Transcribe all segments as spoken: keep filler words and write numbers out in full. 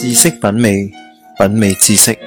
知識品味，品味知識。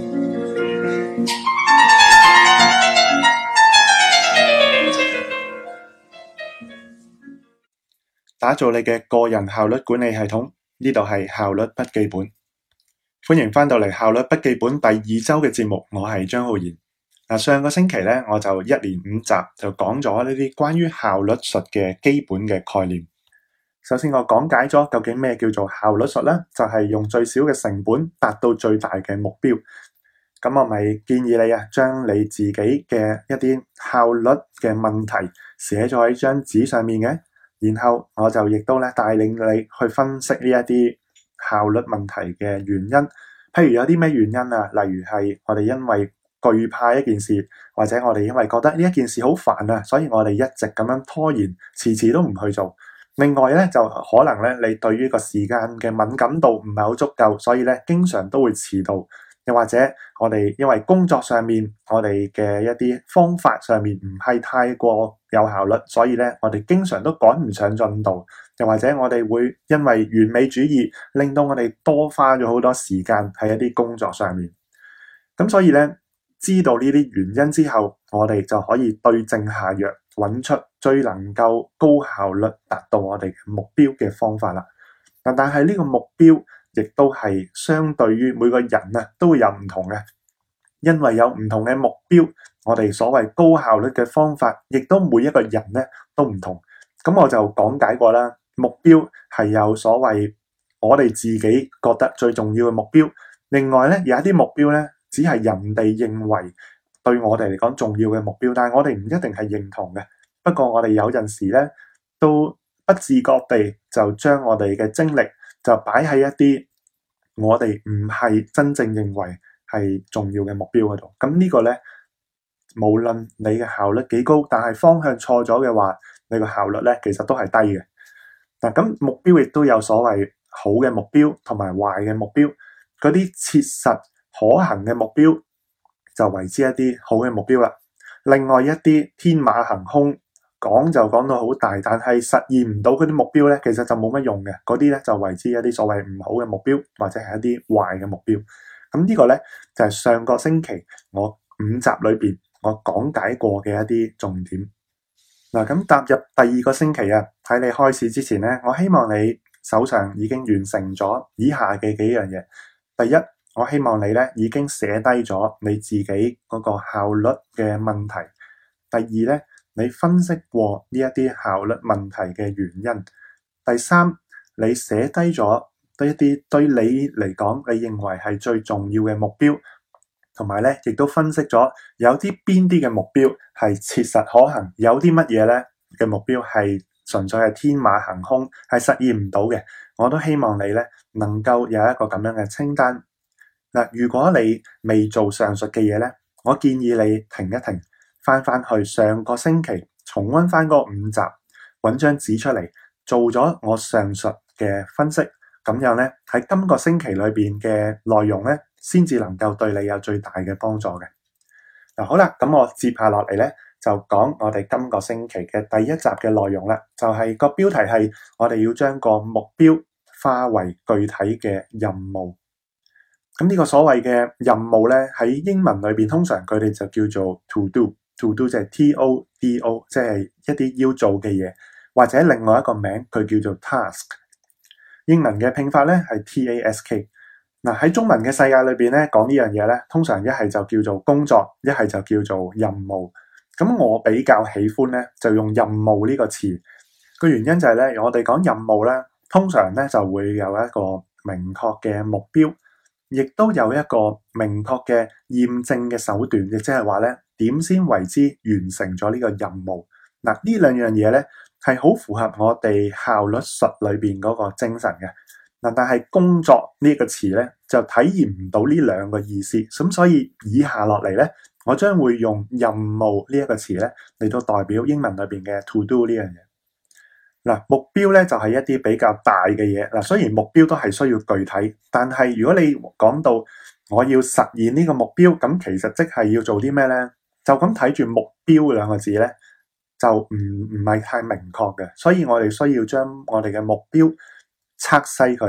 打造你嘅個人效率管理系統，呢度係效率筆記本。歡迎翻到嚟效率筆記本第二周嘅節目，我係張浩然。嗱，上個星期咧，我就一連五集就講咗呢啲關於效率術嘅基本嘅概念。首先我講解咗究竟咩叫做效率術咧，就係用最少嘅成本達到最大嘅目標。咁我咪建議你啊，將你自己嘅一啲效率嘅問題寫咗喺張紙上面嘅，然後我就亦都咧帶領你去分析呢一啲效率問題嘅原因。譬如有啲咩原因啊？例如係我哋因為懼怕一件事，或者我哋因為覺得呢一件事好煩啊，所以我哋一直咁樣拖延，遲遲都唔去做。另外咧，就可能咧你對於個時間嘅敏感度唔係好足夠，所以咧經常都會遲到。又或者我哋因為工作上面我哋嘅一啲方法上面唔係太過有效率，所以咧我哋經常都趕唔上進度。又或者我哋會因為完美主義，令到我哋多花咗好多時間喺一啲工作上面。咁所以咧，知道呢啲原因之後，我哋就可以對症下藥，揾出最能夠高效率達到我哋目標嘅方法啦。但係呢個目標亦都係相對於每個人啊都會有唔同嘅，因為有唔同嘅目標，我哋所謂高效率嘅方法，亦都每一個人咧都唔同。咁我就講解過啦，目標係有所謂我哋自己覺得最重要嘅目標，另外咧有一啲目標咧只係人哋認為對我哋嚟講重要嘅目標，但係我哋唔一定係認同嘅。不過我哋有陣時咧都不自覺地就將我哋嘅精力就擺喺一啲我哋唔係真正認為係重要嘅目標嗰度。咁呢個咧，無論你嘅效率幾高，但係方向錯咗嘅話，你個效率咧其實都係低嘅。嗱，咁目標亦都有所謂好嘅目標同埋壞嘅目標。嗰啲切實可行嘅目標就為之一啲好嘅目標啦。另外一啲天馬行空，講就講到好大，但係實現唔到嗰啲目標咧，其實就冇乜用嘅。嗰啲咧就為之一啲所謂唔好嘅目標，或者係一啲壞嘅目標。咁呢個咧就係上個星期我五集裏邊我講解過嘅一啲重點。嗱，咁踏入第二個星期啊，喺你開始之前咧，我希望你手上已經完成咗以下嘅幾樣嘢。第一，我希望你咧已經寫低咗你自己嗰個效率嘅問題。第二咧，你分析過呢一啲效率問題嘅原因。第三，你寫低咗對一啲對你嚟講你認為係最重要嘅目標，同埋咧亦都分析咗有啲邊啲嘅目標係切實可行，有啲乜嘢咧嘅目標係純粹係天馬行空，係實現唔到嘅。我都希望你咧能夠有一個咁樣嘅清單。嗱，如果你未做上述嘅嘢咧，我建議你停一停，翻翻去上個星期重溫翻嗰五集，揾張紙出嚟做咗我上述嘅分析，咁樣咧喺今個星期裏邊嘅內容咧，先至能夠對你有最大嘅幫助嘅。嗱，好啦，咁我接下落嚟咧就講我哋今個星期嘅第一集嘅內容啦，就係個標題係我哋要將個目標化為具體嘅任務。咁呢個所謂嘅任務咧，喺英文裏邊通常佢哋就叫做 to do。To do 即係 T O D O， 即係一啲要做嘅嘢，或者另外一個名佢叫做 task。英文嘅拼法咧係 T A S K。嗱，喺中文嘅世界裏邊咧講呢樣嘢咧，通常一係就叫做工作，一係就叫做任務。咁我比較喜歡咧就用任務呢個詞。個原因就係咧，我哋講任務咧，通常咧就會有一個明確嘅目標，亦都有一個明確嘅驗證嘅手段，亦即係話咧，點先為之完成咗呢個任務。嗱，呢兩樣嘢咧係好符合我哋效率術裏邊嗰個精神嘅。嗱，但係工作呢個詞咧就體現唔到呢兩個意思，咁所以以下落嚟咧，我將會用任務呢一個詞咧嚟到代表英文裏邊嘅 to do 呢樣嘢。嗱，目標咧就係一啲比較大嘅嘢。嗱，雖然目標都係需要具體，但係如果你講到我要實現呢個目標，咁其實即係要做啲咩咧？就咁睇住目標兩個字咧，就唔唔係太明確嘅。所以我哋需要將我哋嘅目標拆細佢，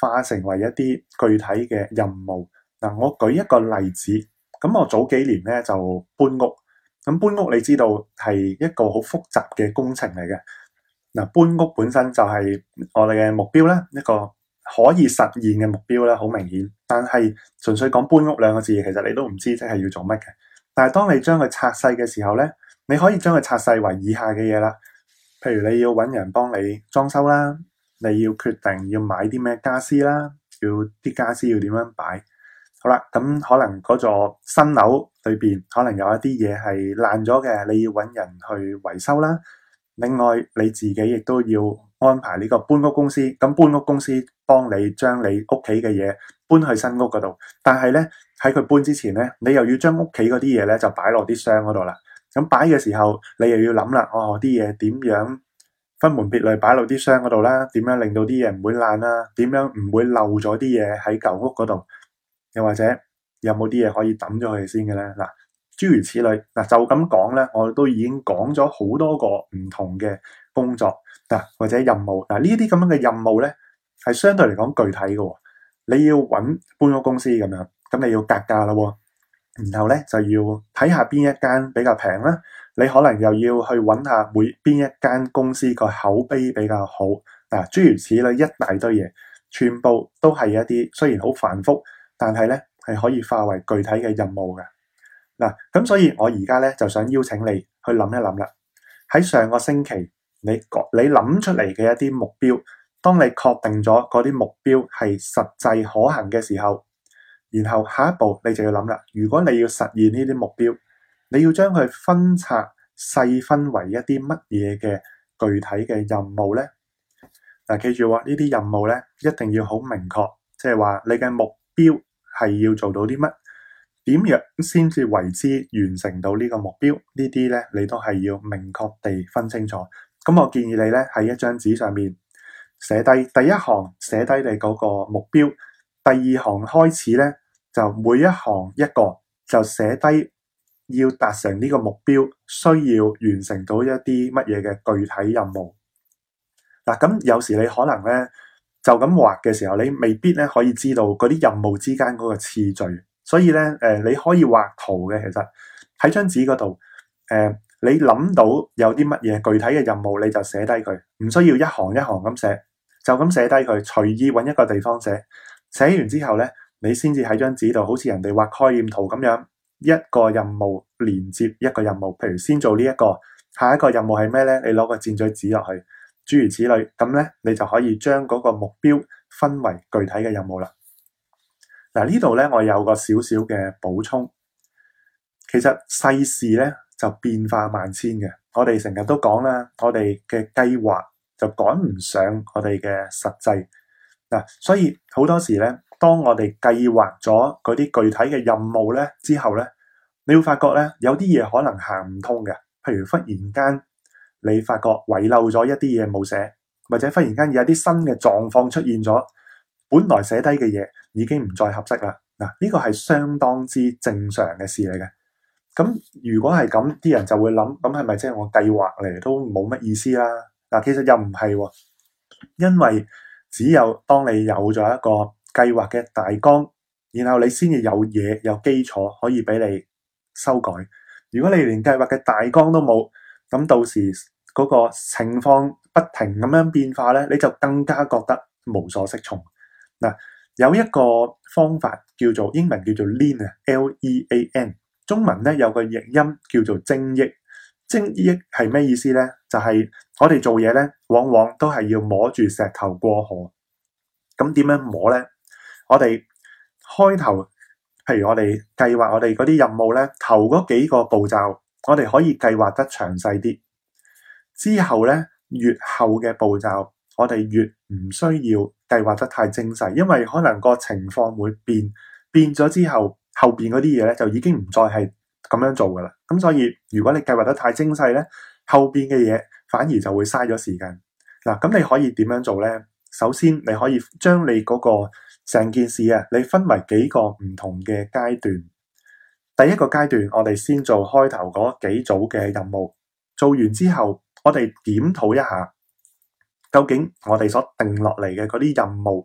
化成為一啲具體嘅任務。嗱，我舉一個例子，咁我早幾年咧就搬屋，咁搬屋你知道係一個好複雜嘅工程嚟嘅。嗱，搬屋本身就係我哋嘅目標啦，一個可以實現嘅目標啦，好明顯。但係純粹講搬屋兩個字，其實你都唔知即係要做乜嘅。但係當你將佢拆細嘅時候咧，你可以將佢拆細為以下嘅嘢啦。譬如你要揾人幫你裝修啦，你要決定要買啲咩家私啦，要啲家私要點樣擺。好啦，咁可能嗰座新樓裏邊可能有一啲嘢係爛咗嘅，你要揾人去維修啦。另外你自己亦都要安排呢個搬屋公司，咁搬屋公司幫你將你屋企嘅嘢搬去新屋嗰度。但係咧喺佢搬之前咧，你又要將屋企嗰啲嘢咧就擺落啲箱嗰度啦。咁擺嘅時候，你又要諗啦，哦，啲嘢點樣分門別類擺落啲箱嗰度啦？點樣令到啲嘢唔會爛啦？點樣唔會漏咗啲嘢喺舊屋嗰度？又或者有冇啲嘢可以抌咗佢先嘅咧？嗱，諸如此類。嗱，就咁講咧，我都已經講咗好多個唔同嘅工作嗱，或者任務嗱，呢啲咁樣嘅任務咧，係相對嚟講具體嘅。你要揾搬屋公司咁樣，咁你要格價咯，然後咧就要睇下邊一間比較平啦。你可能又要去揾下每邊一間公司個口碑比較好嗱，諸如此類一大堆嘢，全部都係一啲雖然好繁複，但係咧係可以化為具體嘅任務嘅嗱。咁所以我而家咧就想邀請你去諗一諗啦。喺上個星期你你諗出嚟嘅一啲目標，當你確定咗嗰啲目標係實際可行嘅時候，然後下一步你就要諗啦。如果你要實現呢啲目標，你要將佢分拆細分為一啲乜嘢嘅具體嘅任務呢？嗱，記住喎，呢啲任務咧一定要好明確，即係話你嘅目標係要做到啲乜，點樣先至為之完成到呢個目標？呢啲咧你都係要明確地分清楚。咁我建議你咧喺一張紙上面寫低第一行，寫低你嗰個目標。第二行開始咧就每一行一個，就寫低要達成呢個目標需要完成到一啲乜嘢嘅具體任務。嗱，咁有時你可能咧就咁畫嘅時候，你未必咧可以知道嗰啲任務之間嗰個次序，所以咧誒你可以畫圖嘅。其實喺張紙嗰度誒，你諗到有啲乜嘢具體嘅任務，你就寫低佢，唔需要一行一行咁寫，就咁寫低佢，隨意揾一個地方寫。寫完之後咧，你先至喺張紙度好似人哋畫概念圖咁樣，一個任務連接一個任務。譬如先做呢一個，下一個任務係咩咧？你攞個箭嘴指落去。諸如此類，咁咧你就可以將嗰個目標分為具體嘅任務啦。嗱，呢度咧我有個少少嘅補充。其實世事咧就變化萬千嘅，我哋成日都講啦，我哋嘅計劃就趕唔上我哋嘅實際嗱，所以好多時咧，當我哋計劃咗嗰啲具體嘅任務咧之後咧，你會發覺咧有啲嘢可能行唔通嘅，譬如忽然間你發覺遺漏咗一啲嘢冇寫，或者忽然間有啲新嘅狀況出現咗，本來寫低嘅嘢已經唔再合適啦。嗱，呢個係相當之正常嘅事嚟嘅。咁如果係咁，啲人就會諗，咁係咪即係我計劃嚟都冇乜意思啦？嗱，其實又唔係喎，因為只有當你有咗一個計劃嘅大綱，然後你先至有嘢有基礎可以俾你修改。如果你連計劃嘅大綱都冇，咁到時嗰個情況不停咁樣變化咧，你就更加覺得無所適從。嗱，有一個方法叫做英文叫做 lean 啊 ，L E A N， 中文咧有個譯音叫做精益。精益係咩意思咧？就係我哋做嘢咧，往往都係要摸住石頭過河。咁點樣摸咧？我哋開頭，譬如我哋計劃我哋嗰啲任務咧，頭嗰幾個步驟，我哋可以計劃得詳細啲。之後咧，越後嘅步驟，我哋越唔需要計劃得太精細，因為可能個情況會變，變咗之後，後邊嗰啲嘢咧就已經唔再係咁樣做噶啦。咁所以如果你計劃得太精細咧，後邊嘅嘢反而就會嘥咗時間。嗱，咁你可以點樣做咧？首先你可以將你嗰個成件事啊，你分為幾個唔同嘅階段。第一個階段，我哋先做開頭嗰幾組嘅任務，做完之後，我哋檢討一下，究竟我哋所定落嚟嘅嗰啲任務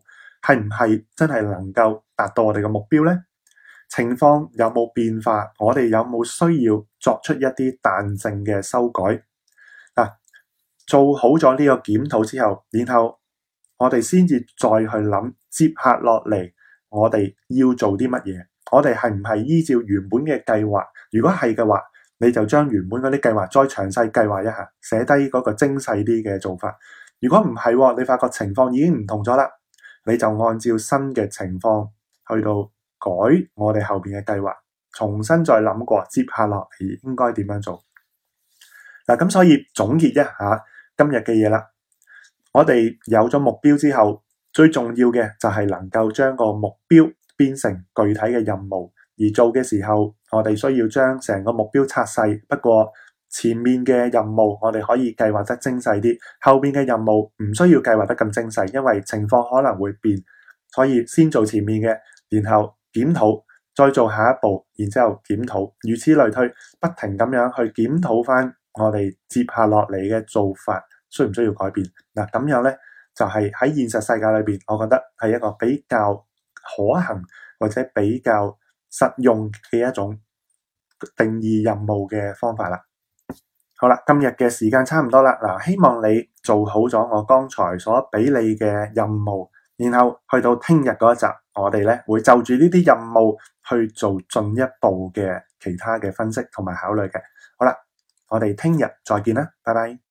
係唔係真係能夠達到我哋嘅目標呢？情況有冇變化？我哋有冇需要作出一啲彈性嘅修改？嗱，做好咗呢個檢討之後，然後我哋先至再去諗接下落嚟我哋要做啲乜嘢？我哋係唔係依照原本嘅計劃？如果係嘅話，你就將原本嗰啲計劃再詳細計劃一下，寫低嗰個精細啲嘅做法。如果唔係，你發覺情況已經唔同咗啦，你就按照新嘅情況去到改我哋後邊嘅計劃，重新再諗過接下落嚟應該點樣做。嗱，咁所以總結一下今日嘅嘢啦。我哋有咗目標之後，最重要嘅就係能夠將個目標變成具體嘅任務，而做嘅時候，我哋需要將成個目標拆細。不過前面嘅任務我哋可以計劃得精細啲，後邊嘅任務唔需要計劃得咁精細，因為情況可能會變，所以先做前面嘅，然後檢討，再做下一步，然之後檢討，如此類推，不停咁樣去檢討翻我哋接下落嚟嘅做法需唔需要改變。嗱，咁樣呢就係喺現實世界裏邊，我覺得係一個比較可行或者比較實用嘅一種定義任務嘅方法啦。好啦，今日嘅時間差唔多啦。嗱，希望你做好咗我剛才所俾你嘅任務，然後去到聽日嗰一集，我哋咧會就住呢啲任務去做進一步嘅其他嘅分析同埋考慮嘅。好啦，我哋聽日再見啦，拜拜。